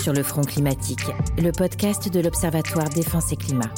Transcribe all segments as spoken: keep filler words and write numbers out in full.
sur le front climatique, le podcast de l'Observatoire Défense et Climat.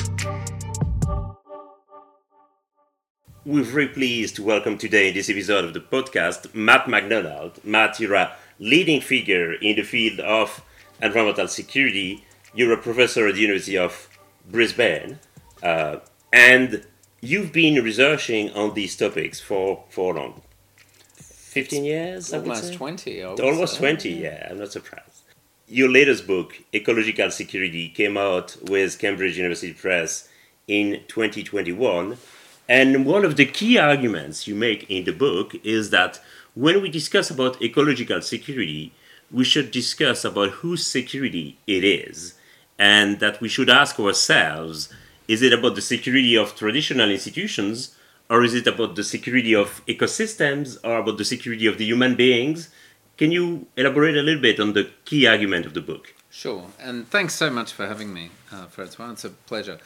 We're very pleased to welcome today in this episode of the podcast Matt McDonald. Matt, you're a leading figure in the field of environmental security. You're a professor at the University of Brisbane, uh, and you've been researching on these topics for for long. fifteen years, I would Almost say? twenty, I would Almost say. twenty, yeah, I'm not surprised. Your latest book, Ecological Security, came out with Cambridge University Press in twenty twenty-one. And one of the key arguments you make in the book is that when we discuss about ecological security, we should discuss about whose security it is, and that we should ask ourselves, is it about the security of traditional institutions, or is it about the security of ecosystems, or about the security of the human beings? Can you elaborate a little bit on the key argument of the book? Sure, and thanks so much for having me, uh, Francois. It's a pleasure.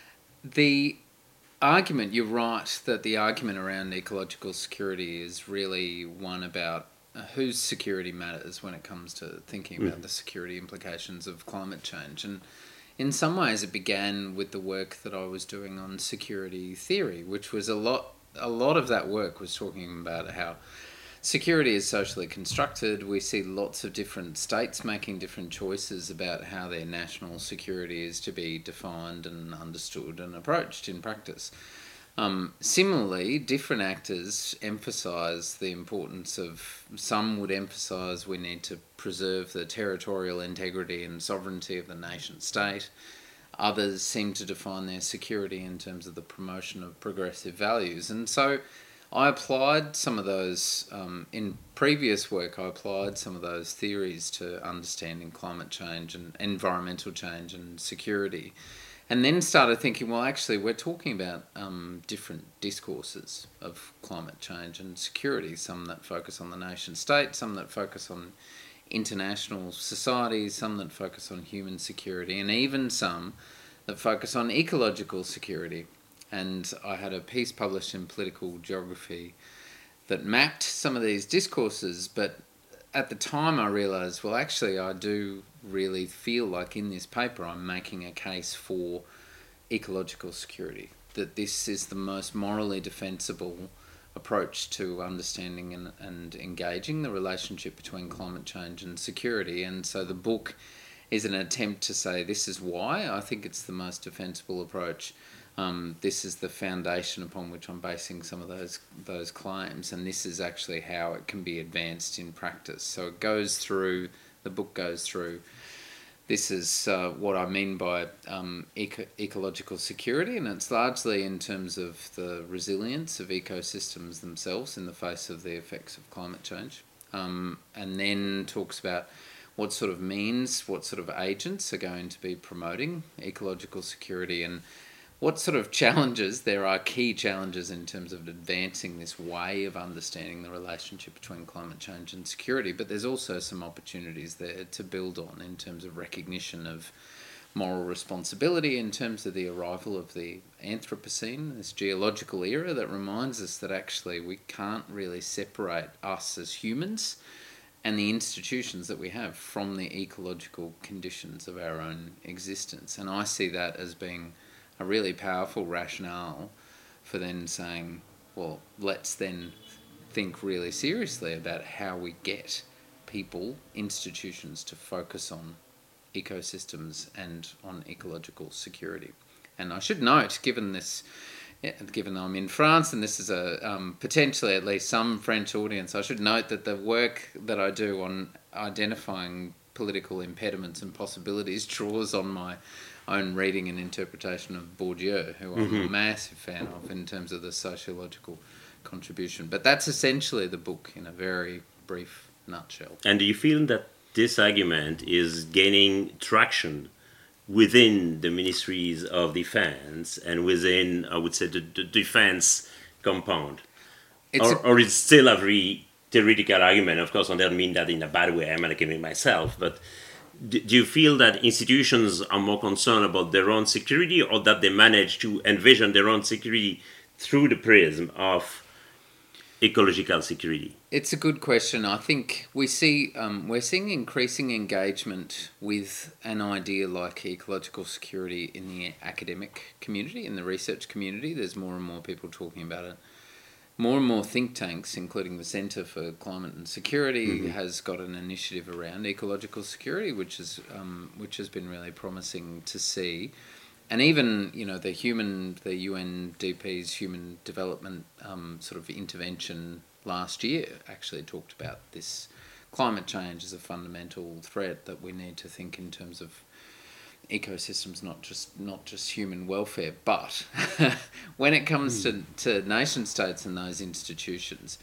The argument, you're right, that the argument around ecological security is really one about uh, whose security matters when it comes to thinking about mm. the security implications of climate change. And in some ways it began with the work that I was doing on security theory, which was a lot, a lot of that work was talking about how security is socially constructed. We see lots of different states making different choices about how their national security is to be defined and understood and approached in practice. Um, similarly, different actors emphasise the importance of, some would emphasise we need to preserve the territorial integrity and sovereignty of the nation state. Others seem to define their security in terms of the promotion of progressive values. And so I applied some of those, um, in previous work, I applied some of those theories to understanding climate change and environmental change and security. And then started thinking, well, actually, we're talking about um, different discourses of climate change and security, some that focus on the nation state, some that focus on international societies, some that focus on human security, and even some that focus on ecological security. And I had a piece published in Political Geography that mapped some of these discourses, but at the time I realised, well, actually I do really feel like in this paper I'm making a case for ecological security, that this is the most morally defensible approach to understanding and, and engaging the relationship between climate change and security. And so the book is an attempt to say this is why I think it's the most defensible approach. Um, this is the foundation upon which I'm basing some of those those claims, and this is actually how it can be advanced in practice. So it goes through, the book goes through, this is uh, what I mean by um, eco- ecological security, and it's largely in terms of the resilience of ecosystems themselves in the face of the effects of climate change, um, and then talks about what sort of means, what sort of agents are going to be promoting ecological security, and what sort of challenges, there are key challenges in terms of advancing this way of understanding the relationship between climate change and security, but there's also some opportunities there to build on in terms of recognition of moral responsibility, in terms of the arrival of the Anthropocene, this geological era that reminds us that actually we can't really separate us as humans and the institutions that we have from the ecological conditions of our own existence. And I see that as being a really powerful rationale for then saying, well, let's then think really seriously about how we get people, institutions to focus on ecosystems and on ecological security. And I should note, given this, given I'm in France and this is a um, potentially at least some French audience, I should note that the work that I do on identifying political impediments and possibilities draws on my own reading and interpretation of Bourdieu, who I'm mm-hmm. a massive fan of in terms of the sociological contribution. But that's essentially the book in a very brief nutshell. And do you feel that this argument is gaining traction within the ministries of defense and within, I would say, the, the defense compound? It's or, a- or is it still a very theoretical argument? Of course, I don't mean that in a bad way. I'm an academic myself, but do you feel that institutions are more concerned about their own security, or that they manage to envision their own security through the prism of ecological security? It's a good question. I think we see um, we're seeing increasing engagement with an idea like ecological security in the academic community, in the research community. There's more and more people talking about it. More and more think tanks, including the Centre for Climate and Security, mm-hmm. has got an initiative around ecological security, which is um, which has been really promising to see. And even, you know, the human, the U N D P's human development um, sort of intervention last year actually talked about this climate change as a fundamental threat that we need to think in terms of ecosystems, not just not just human welfare. But when it comes mm. to, to nation states and those institutions,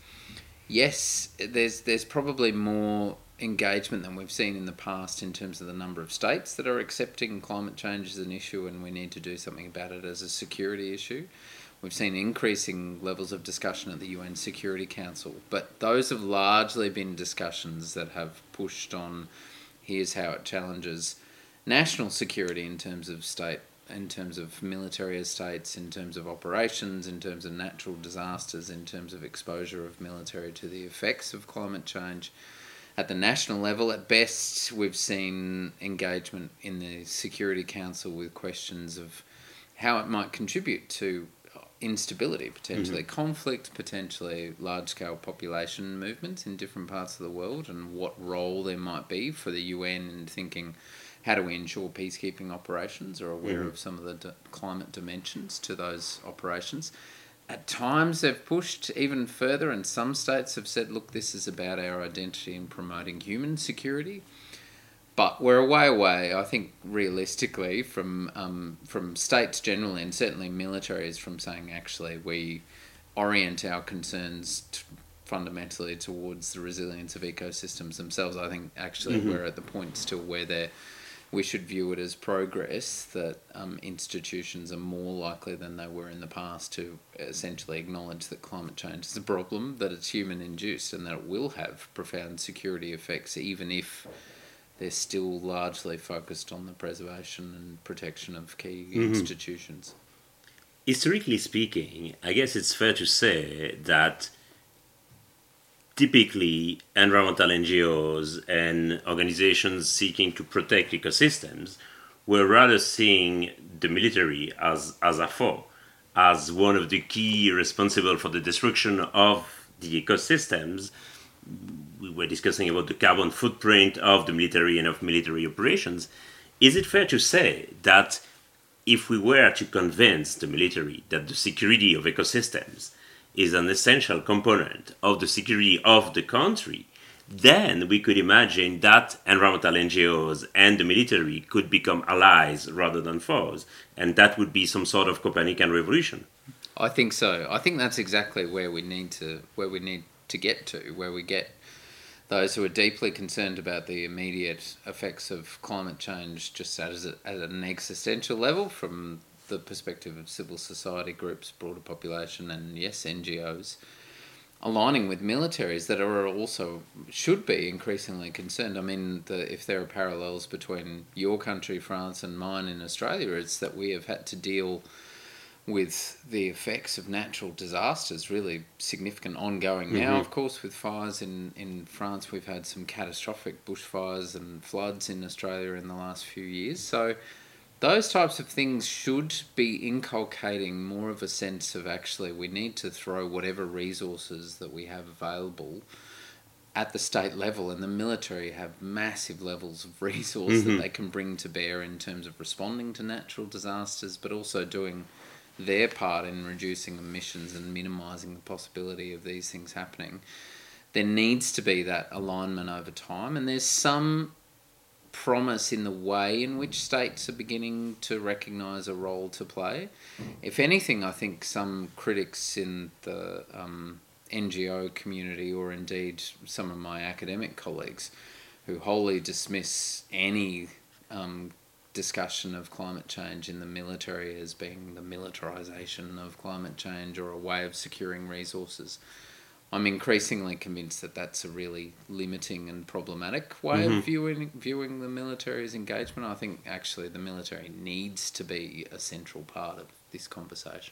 yes, there's there's probably more engagement than we've seen in the past in terms of the number of states that are accepting climate change as an issue and we need to do something about it as a security issue. We've seen increasing levels of discussion at the U N Security Council, but those have largely been discussions that have pushed on here's how it challenges national security in terms of state, in terms of military estates, in terms of operations, in terms of natural disasters, in terms of exposure of military to the effects of climate change. At the national level, at best, we've seen engagement in the Security Council with questions of how it might contribute to instability, potentially mm-hmm. conflict, potentially large-scale population movements in different parts of the world, and what role there might be for the U N in thinking, how do we ensure peacekeeping operations are aware mm-hmm. of some of the d- climate dimensions to those operations. At times they've pushed even further, and some states have said, look, this is about our identity in promoting human security. But we're a way away, I think, realistically, from um, from states generally, and certainly militaries, from saying, actually, we orient our concerns t- fundamentally towards the resilience of ecosystems themselves. I think, actually, mm-hmm. we're at the point still where they're we should view it as progress, that um, institutions are more likely than they were in the past to essentially acknowledge that climate change is a problem, that it's human-induced and that it will have profound security effects, even if they're still largely focused on the preservation and protection of key mm-hmm. institutions. Historically speaking, I guess it's fair to say that typically, environmental N G Os and organizations seeking to protect ecosystems were rather seeing the military as, as a foe, as one of the key responsible for the destruction of the ecosystems. We were discussing about the carbon footprint of the military and of military operations. Is it fair to say that if we were to convince the military that the security of ecosystems is an essential component of the security of the country, then we could imagine that environmental N G Os and the military could become allies rather than foes, and that would be some sort of Copernican revolution. I think so. I think that's exactly where we need to where we need to get to, where we get those who are deeply concerned about the immediate effects of climate change just as a, at an existential level, from the perspective of civil society groups, broader population, and yes, N G Os, aligning with militaries that are also, should be increasingly concerned. I mean, the, if there are parallels between your country, France, and mine in Australia, it's that we have had to deal with the effects of natural disasters, really significant ongoing mm-hmm. now, of course, with fires in, in France. We've had some catastrophic bushfires and floods in Australia in the last few years. So those types of things should be inculcating more of a sense of actually we need to throw whatever resources that we have available at the state level, and the military have massive levels of resource mm-hmm. that they can bring to bear in terms of responding to natural disasters, but also doing their part in reducing emissions and minimising the possibility of these things happening. There needs to be that alignment over time, and there's some promise in the way in which states are beginning to recognise a role to play. If anything, I think some critics in the um, N G O community, or indeed some of my academic colleagues, who wholly dismiss any um, discussion of climate change in the military as being the militarisation of climate change or a way of securing resources, I'm increasingly convinced that that's a really limiting and problematic way mm-hmm. of viewing viewing the military's engagement. I think actually the military needs to be a central part of this conversation.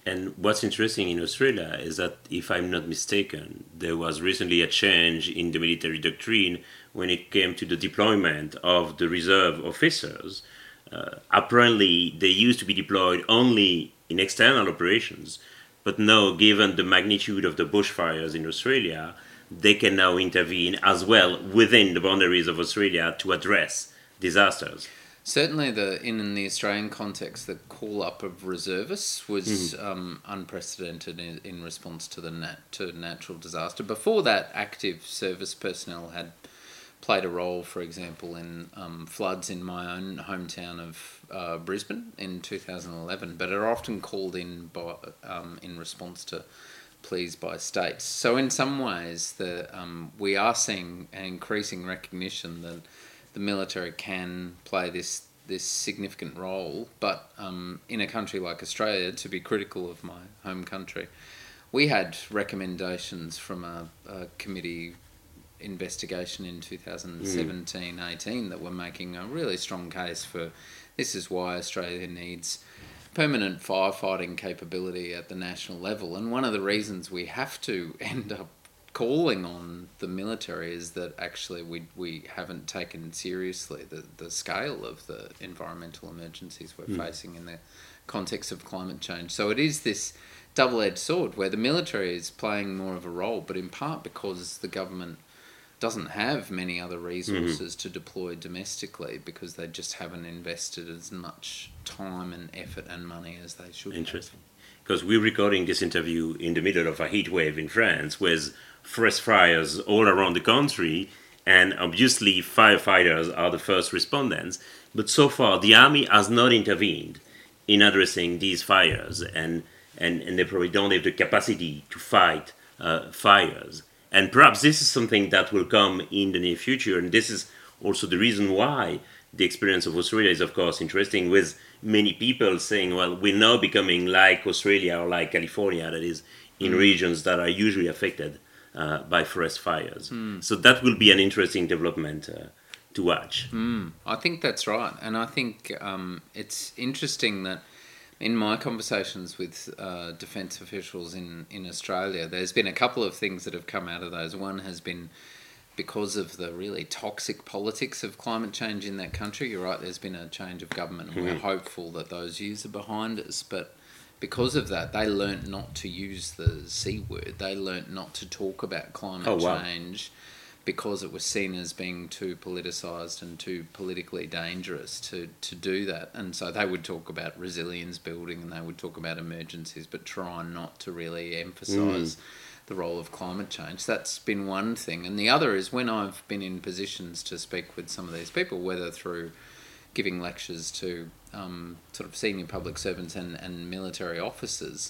And what's interesting in Australia is that, if I'm not mistaken, there was recently a change in the military doctrine when it came to the deployment of the reserve officers. Uh, apparently, they used to be deployed only in external operations, but now, given the magnitude of the bushfires in Australia, they can now intervene as well within the boundaries of Australia to address disasters. Certainly, the in the Australian context, the call-up of reservists was Mm. um, unprecedented in, in response to the nat- to natural disaster. Before that, active service personnel had played a role, for example, in um, floods in my own hometown of uh, Brisbane in two thousand eleven, but are often called in by um, in response to pleas by states. So, in some ways, the um, we are seeing an increasing recognition that the military can play this this significant role, but um, in a country like Australia, to be critical of my home country, we had recommendations from a, a committee investigation in two thousand seventeen eighteen that were making a really strong case for this is why Australia needs permanent firefighting capability at the national level. And one of the reasons we have to end up calling on the military is that actually we we haven't taken seriously the, the scale of the environmental emergencies we're mm. facing in the context of climate change. So it is this double-edged sword where the military is playing more of a role, but in part because the government doesn't have many other resources mm-hmm. to deploy domestically because they just haven't invested as much time and effort and money as they should. Interesting. Because we're recording this interview in the middle of a heat wave in France with forest fires all around the country, and obviously firefighters are the first respondents. But so far, the army has not intervened in addressing these fires, and, and, and they probably don't have the capacity to fight uh, fires. And perhaps this is something that will come in the near future, and this is also the reason why the experience of Australia is, of course, interesting, with many people saying, well, we're now becoming like Australia or like California, that is, in mm. regions that are usually affected uh, by forest fires. Mm. So that will be an interesting development uh, to watch. Mm. I think that's right. And I think um, it's interesting that in my conversations with uh, defence officials in, in Australia, there's been a couple of things that have come out of those. One has been because of the really toxic politics of climate change in that country. You're right, there's been a change of government, and mm-hmm. we're hopeful that those views are behind us. But because of that, they learnt not to use the C word. They learnt not to talk about climate oh, wow. change because it was seen as being too politicised and too politically dangerous to, to do that. And so they would talk about resilience building and they would talk about emergencies, but try not to really emphasise mm. the role of climate change. That's been one thing. And the other is when I've been in positions to speak with some of these people, whether through giving lectures to um, sort of senior public servants and, and military officers,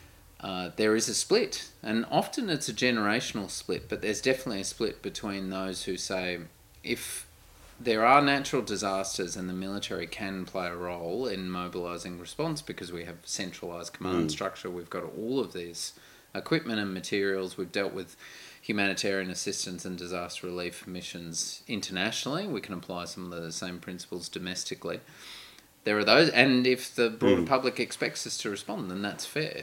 uh, there is a split. And often it's a generational split, but there's definitely a split between those who say, if there are natural disasters and the military can play a role in mobilising response because we have centralised command mm. structure, we've got all of these equipment and materials, we've dealt with humanitarian assistance and disaster relief missions internationally, we can apply some of the same principles domestically. There are those, and if the broader mm. public expects us to respond, then that's fair.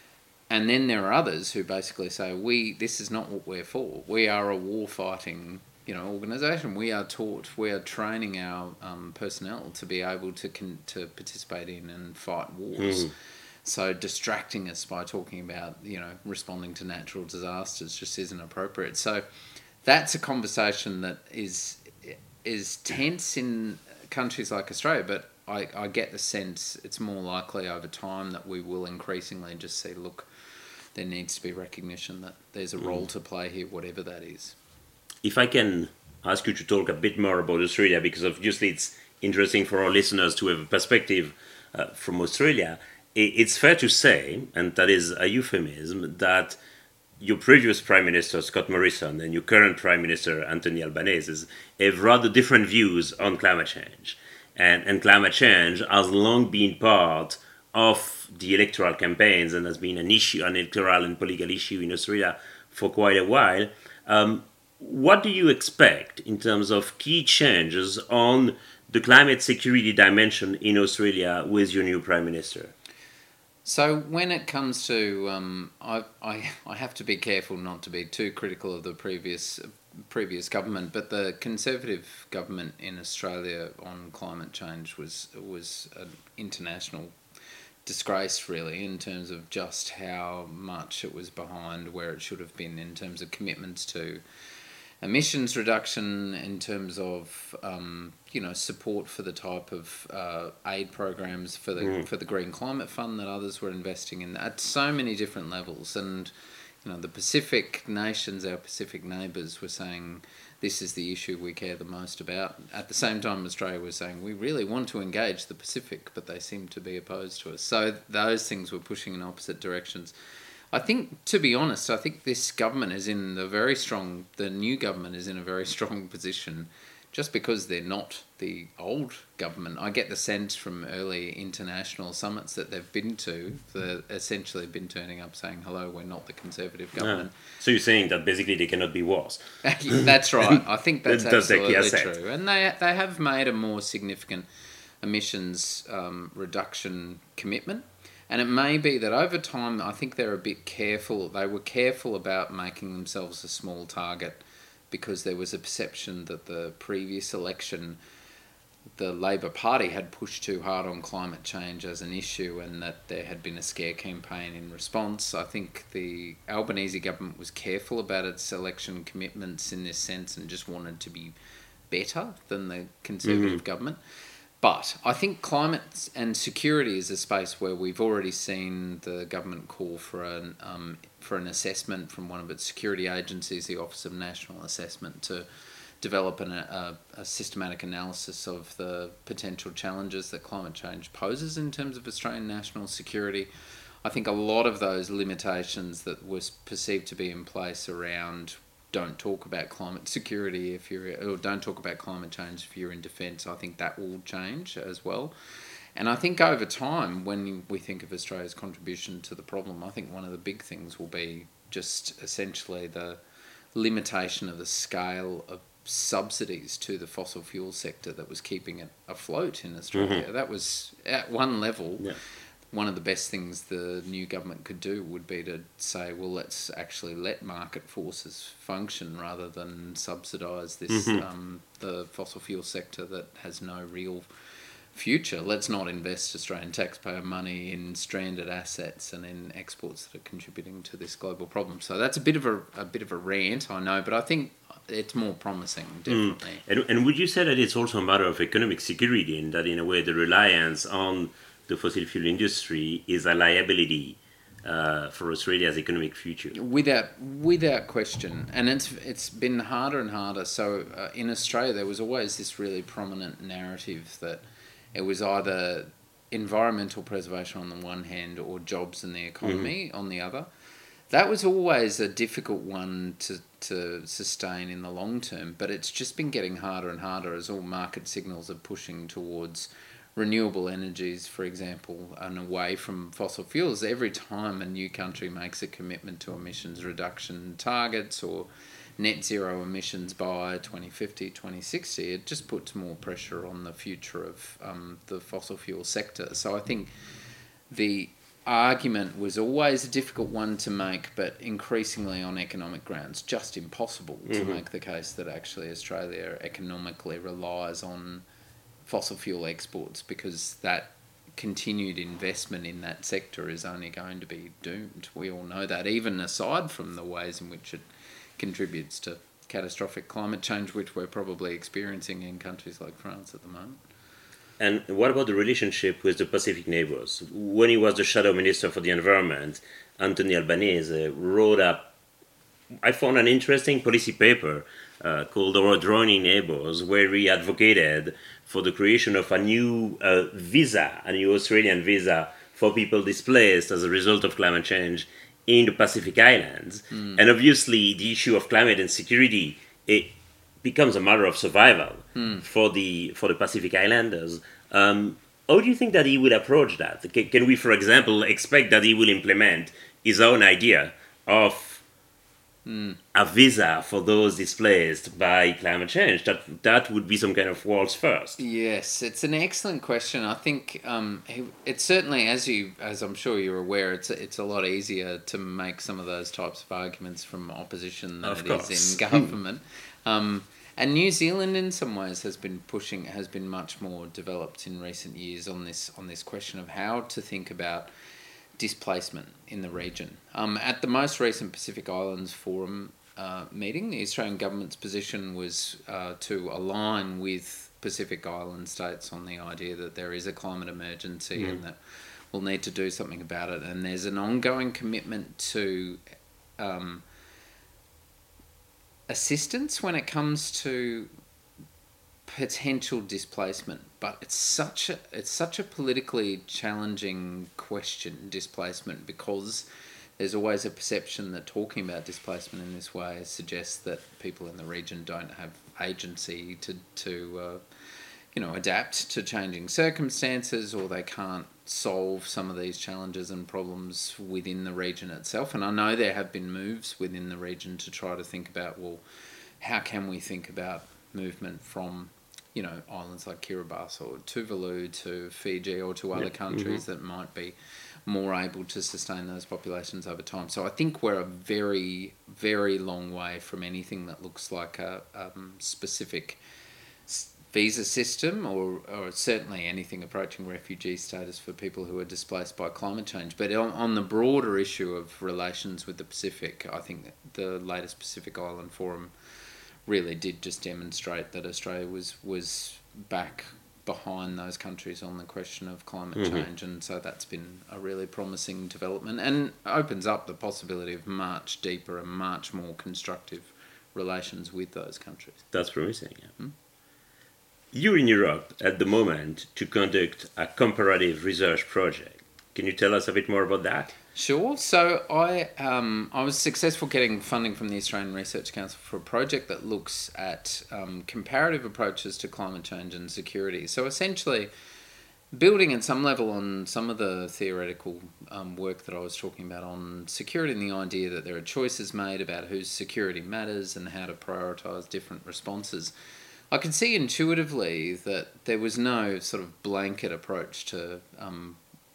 And then there are others who basically say, "We this is not what we're for. We are a war-fighting, you know, organisation. We are taught, we are training our um, personnel to be able to con- to participate in and fight wars." Mm. So distracting us by talking about, you know, responding to natural disasters just isn't appropriate. So that's a conversation that is is tense in countries like Australia, but I, I get the sense it's more likely over time that we will increasingly just see, look, there needs to be recognition that there's a role to play here, whatever that is. If I can ask you to talk a bit more about Australia, because obviously it's interesting for our listeners to have a perspective uh, from Australia, it's fair to say, and that is a euphemism, that your previous Prime Minister, Scott Morrison, and your current Prime Minister, Anthony Albanese, have rather different views on climate change. And, and climate change has long been part of the electoral campaigns and has been an issue, an electoral and political issue in Australia for quite a while. Um, what do you expect in terms of key changes on the climate security dimension in Australia with your new Prime Minister? So when it comes to, um, I, I, I have to be careful not to be too critical of the previous previous government, but the Conservative government in Australia on climate change was was an international disgrace, really, in terms of just how much it was behind where it should have been in terms of commitments to emissions reduction, in terms of um, you know support for the type of uh, aid programs for the Mm. for the Green Climate Fund that others were investing in at so many different levels. And you know the Pacific nations, our Pacific neighbours, were saying this is the issue we care the most about. At the same time, Australia was saying we really want to engage the Pacific, but they seem to be opposed to us. So those things were pushing in opposite directions. I think, to be honest, I think this government is in the very strong, the new government is in a very strong position just because they're not the old government. I get the sense from early international summits that they've been to, they've essentially been turning up saying, hello, we're not the Conservative government. Ah. So you're saying that basically they cannot be worse. That's right. I think that's That's the key absolutely asset. true. And they, they have made a more significant emissions um, reduction commitment. And it may be that over time, I think they're a bit careful. They were careful about making themselves a small target because there was a perception that the previous election, the Labor Party had pushed too hard on climate change as an issue and that there had been a scare campaign in response. I think the Albanese government was careful about its election commitments in this sense and just wanted to be better than the Conservative Mm-hmm. government. But I think climate and security is a space where we've already seen the government call for an um, for an assessment from one of its security agencies, the Office of National Assessment, to develop an, a, a systematic analysis of the potential challenges that climate change poses in terms of Australian national security. I think a lot of those limitations that were perceived to be in place around don't talk about climate security if you're, or don't talk about climate change if you're in defence, I think that will change as well. And I think over time, when we think of Australia's contribution to the problem, I think one of the big things will be just essentially the limitation of the scale of subsidies to the fossil fuel sector that was keeping it afloat in Australia. Mm-hmm. That was, at one level, yeah. One of the best things the new government could do would be to say, well, let's actually let market forces function rather than subsidise this mm-hmm. um, the fossil fuel sector that has no real future. Let's not invest Australian taxpayer money in stranded assets and in exports that are contributing to this global problem. So that's a bit of a, a bit of a rant, I know, but I think it's more promising, definitely. Mm. And, and would you say that it's also a matter of economic security, and that in a way the reliance on the fossil fuel industry is a liability uh, for Australia's economic future? Without without question. And it's it's been harder and harder. So uh, in Australia, there was always this really prominent narrative that it was either environmental preservation on the one hand or jobs and the economy mm-hmm. on the other. That was always a difficult one to, to sustain in the long term, but it's just been getting harder and harder as all market signals are pushing towards renewable energies, for example, and away from fossil fuels. Every time a new country makes a commitment to emissions reduction targets or net zero emissions by twenty fifty, twenty sixty, it just puts more pressure on the future of um, the fossil fuel sector. So I think the argument was always a difficult one to make, but increasingly on economic grounds, just impossible mm-hmm. to make the case that actually Australia economically relies on fossil fuel exports, because that continued investment in that sector is only going to be doomed. We all know that, even aside from the ways in which it contributes to catastrophic climate change, which we're probably experiencing in countries like France at the moment. And what about the relationship with the Pacific neighbours? When he was the Shadow Minister for the Environment, Anthony Albanese wrote up, I found an interesting policy paper uh, called Our Adjoining Neighbours, where he advocated for the creation of a new uh, visa, a new Australian visa for people displaced as a result of climate change in the Pacific Islands. Mm. And obviously the issue of climate and security, it becomes a matter of survival mm. for the for the Pacific Islanders. Um, how do you think that he will approach that? Can, can we, for example, expect that he will implement his own idea of mm. a visa for those displaced by climate change. That that would be some kind of world's first. Yes, it's an excellent question. I think um, it's certainly, as you, as I'm sure you're aware, it's a, it's a lot easier to make some of those types of arguments from opposition than Of it course. is in government. um, and New Zealand, in some ways, has been pushing, has been much more developed in recent years on this on this question of how to think about displacement in the region. Um, at the most recent Pacific Islands Forum uh, meeting, the Australian government's position was uh, to align with Pacific Island states on the idea that there is a climate emergency mm. and that we'll need to do something about it. And there's an ongoing commitment to um, assistance when it comes to potential displacement, but it's such a it's such a politically challenging question, displacement, because there's always a perception that talking about displacement in this way suggests that people in the region don't have agency to to uh, you know adapt to changing circumstances, or they can't solve some of these challenges and problems within the region itself. And I know there have been moves within the region to try to think about, well, how can we think about movement from you know, islands like Kiribati or Tuvalu to Fiji or to other yep. countries mm-hmm. that might be more able to sustain those populations over time. So I think we're a very, very long way from anything that looks like a um, specific visa system or, or certainly anything approaching refugee status for people who are displaced by climate change. But on, on the broader issue of relations with the Pacific, I think the latest Pacific Island Forum really did just demonstrate that Australia was was back behind those countries on the question of climate mm-hmm. change, and so that's been a really promising development and opens up the possibility of much deeper and much more constructive relations with those countries. That's promising. Yeah. Hmm? You're in Europe at the moment to conduct a comparative research project. Can you tell us a bit more about that? Sure. So I um, I was successful getting funding from the Australian Research Council for a project that looks at um, comparative approaches to climate change and security. So essentially, building at some level on some of the theoretical um, work that I was talking about on security and the idea that there are choices made about whose security matters and how to prioritise different responses. I could see intuitively that there was no sort of blanket approach to um,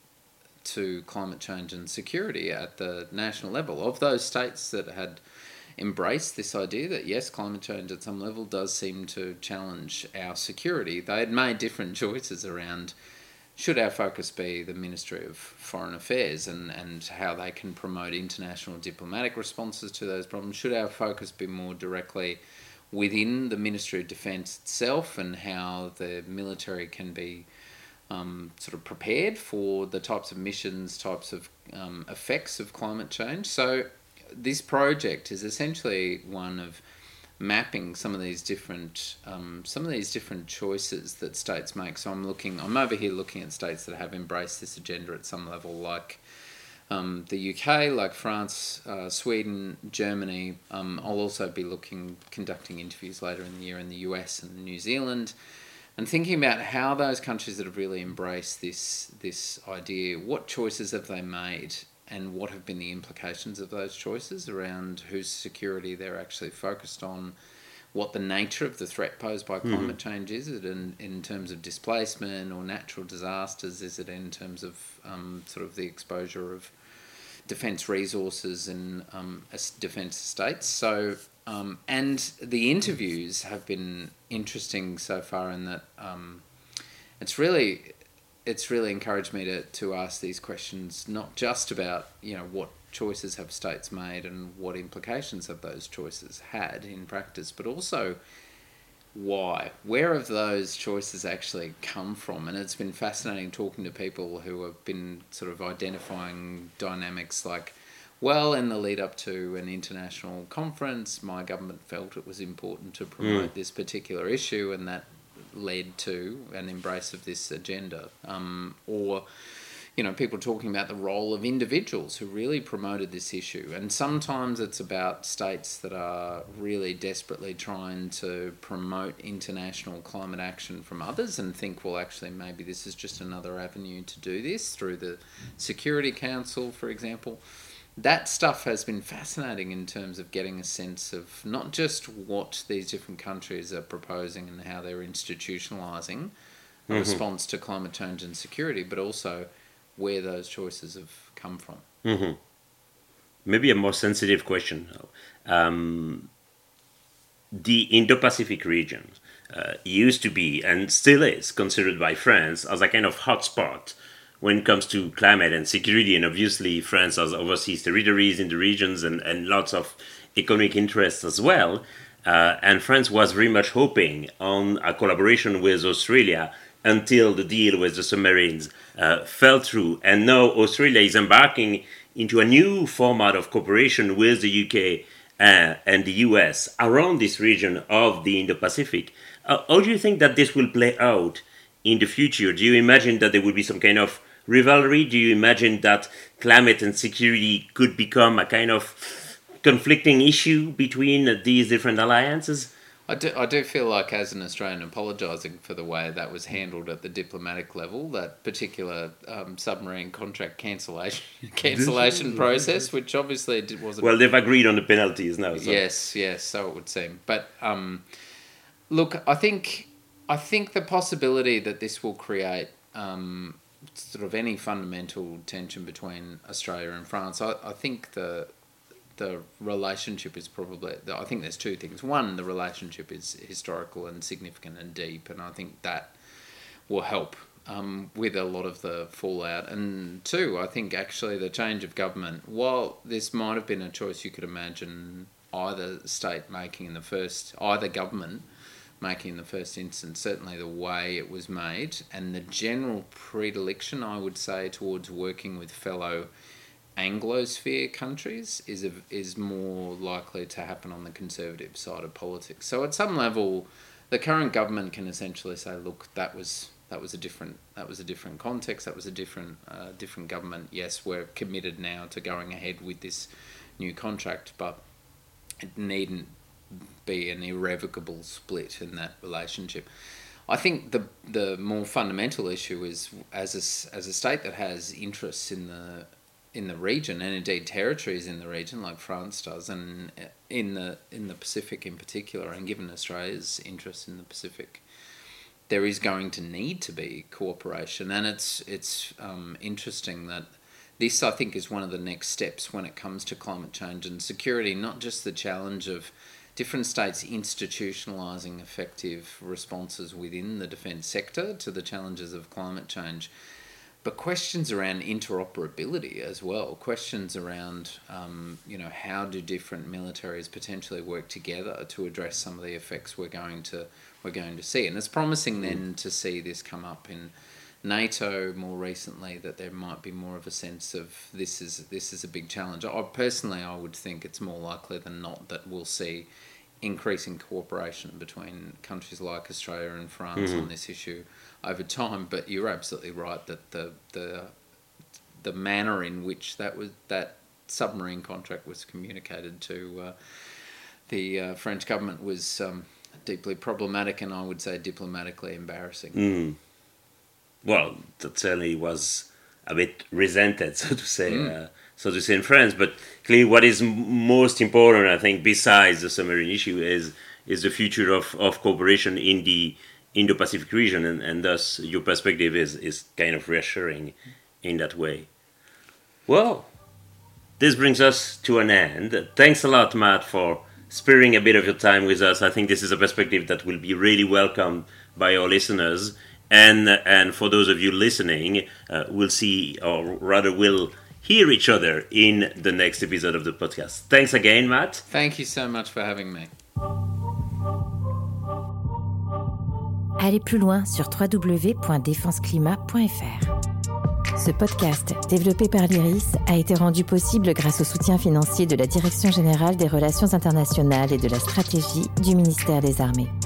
to climate change and security at the national level. Of those states that had embraced this idea that yes, climate change at some level does seem to challenge our security, they had made different choices around should our focus be the Ministry of Foreign Affairs and, and how they can promote international diplomatic responses to those problems. Should our focus be more directly within the Ministry of Defence itself and how the military can be Um, sort of prepared for the types of missions, types of um, effects of climate change. So this project is essentially one of mapping some of these different um, some of these different choices that states make. So I'm looking, I'm over here looking at states that have embraced this agenda at some level, like um, the U K, like France, uh, Sweden, Germany. Um, I'll also be looking, conducting interviews later in the year in the U S and New Zealand, and thinking about how those countries that have really embraced this this idea, what choices have they made and what have been the implications of those choices around whose security they're actually focused on, what the nature of the threat posed by climate mm-hmm. change is. Is it in, in terms of displacement or natural disasters? Is it in terms of um, sort of the exposure of defence resources and um, defence estates? So... Um, and the interviews have been interesting so far in that um, it's really it's really encouraged me to, to ask these questions, not just about you know what choices have states made and what implications have those choices had in practice, but also why, where have those choices actually come from? And it's been fascinating talking to people who have been sort of identifying dynamics like, well, in the lead up to an international conference, my government felt it was important to promote mm. this particular issue, and that led to an embrace of this agenda. Um, or, you know, people talking about the role of individuals who really promoted this issue. And sometimes it's about states that are really desperately trying to promote international climate action from others and think, well, actually, maybe this is just another avenue to do this through the Security Council, for example. that stuff has been fascinating in terms of getting a sense of not just what these different countries are proposing and how they're institutionalising a mm-hmm. response to climate change and security, but also where those choices have come from. Mm-hmm. Maybe a more sensitive question. Um, the Indo-Pacific region uh, used to be, and still is, considered by France as a kind of hotspot when it comes to climate and security. And obviously France has overseas territories in the regions and, and lots of economic interests as well. Uh, and France was very much hoping on a collaboration with Australia until the deal with the submarines uh, fell through. And now Australia is embarking into a new format of cooperation with the U K uh, and the U S around this region of the Indo-Pacific. Uh, how do you think that this will play out in the future? Do you imagine that there will be some kind of rivalry? Do you imagine that climate and security could become a kind of conflicting issue between these different alliances? I do, I do feel like, as an Australian, apologising for the way that was handled at the diplomatic level, that particular um, submarine contract cancellation cancellation process, which obviously wasn't... Well, they've agreed on the penalties now. So. Yes, yes, so it would seem. But um, look, I think I think the possibility that this will create um, sort of any fundamental tension between Australia and France, I, I think the... the relationship is probably, I think there's two things. One, the relationship is historical and significant and deep, and I think that will help um, with a lot of the fallout. And two, I think actually the change of government, while this might have been a choice you could imagine either state making in the first, either government making in the first instance, certainly the way it was made and the general predilection, I would say, towards working with fellow Anglosphere countries is a, is more likely to happen on the conservative side of politics. So at some level, the current government can essentially say, "Look, that was that was a different that was a different context. That was a different uh, different government. Yes, we're committed now to going ahead with this new contract, but it needn't be an irrevocable split in that relationship." I think the the more fundamental issue is, as a, as a state that has interests in the in the region, and indeed territories in the region like France does, and in the in the Pacific in particular, and given Australia's interest in the Pacific, there is going to need to be cooperation. And it's it's um, interesting that this, I think, is one of the next steps when it comes to climate change and security, not just the challenge of different states institutionalising effective responses within the defence sector to the challenges of climate change, but questions around interoperability as well, questions around, um, you know, how do different militaries potentially work together to address some of the effects we're going to we're going to see. And it's promising then to see this come up in NATO more recently, that there might be more of a sense of this is this is a big challenge. I personally, I would think it's more likely than not that we'll see increasing cooperation between countries like Australia and France mm-hmm. on this issue over time. But you're absolutely right that the the the manner in which that was that submarine contract was communicated to uh, the uh, French government was um, deeply problematic, and I would say diplomatically embarrassing. Mm. Well, that certainly was a bit resented, so to say, mm. uh, so to say in France. But clearly, what is m- most important, I think, besides the submarine issue, is is the future of, of cooperation in the Indo-Pacific region, and, and thus your perspective is, is kind of reassuring in that way. Well, this brings us to an end. Thanks a lot, Matt, for sparing a bit of your time with us. I think this is a perspective that will be really welcomed by our listeners. And and for those of you listening, uh, we'll see, or rather we'll hear each other in the next episode of the podcast. Thanks again, Matt. Thank you so much for having me. Allez plus loin sur w w w point défense climat point f r. Ce podcast, développé par l'Iris, a été rendu possible grâce au soutien financier de la Direction générale des relations internationales et de la stratégie du ministère des Armées.